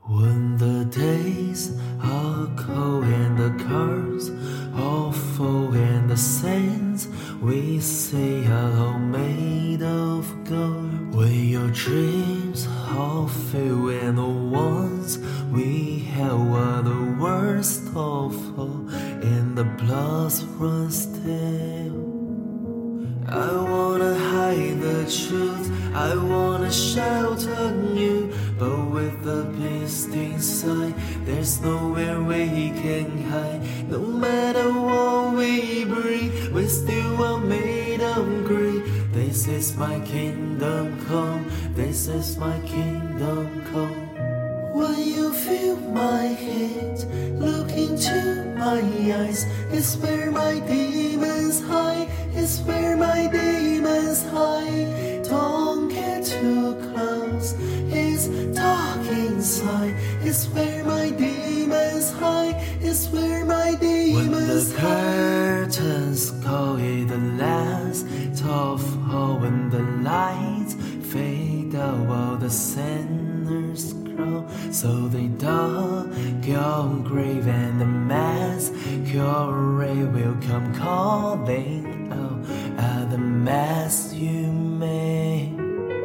When the days are cold and the cards are full and the sands we say are all made of gold, when your dreams are filled and the ones we have are the worst of all, and the blood runs still. I wanna hide the truth, I wanna shout on you, but with the beast inside, there's nowhere we can hide. No matter what we breathe, we still are made of greed. This is my kingdom come, this is my kingdom come. When you feel my hate, look into my eyes. It's where my demons hide, it's where my demons hide. Don't get too close, it's dark inside. It's where my demons hide, it's where my demons hide. When the curtains call it the last of all, when the lights fade out while the sinners crawl, so they dug your grave and the mass curate will come calling out at the mess you made.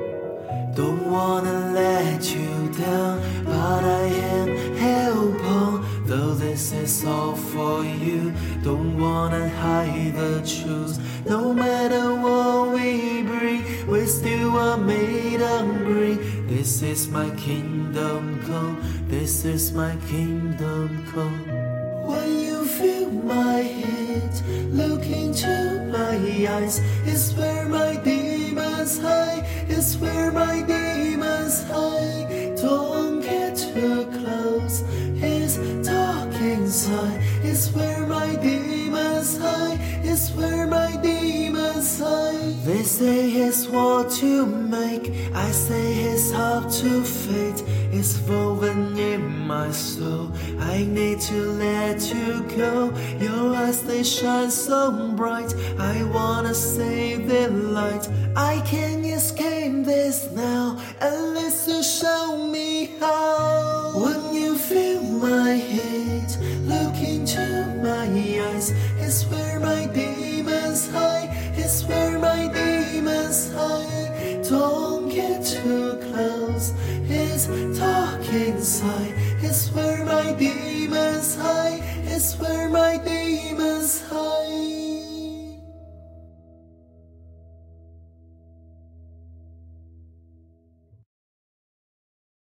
Don't wanna let you down, but I am held on. Though this is all for you, don't wanna hide the truth. No matter what we bring, we still are made hungry. This is my kingdom come, this is my kingdom come. When you feel my hate, look into my eyes. It's where my demons hide, it's where my demons hide. Don't get too close, it's dark inside. It's where my demons hide, it's where my demons hide. They say it's what you make, I say it's up to fate. It's woven in my soul, I need to let you go. Your eyes, they shine so bright, I wanna save their light. I can't escape this now, unless you show me how. When you feel my hate, look into my eyes. It's where my demons hide, it's where my demons hide. Don't get too close, it's dark inside. It's where my demons hide, it's where my demons hide.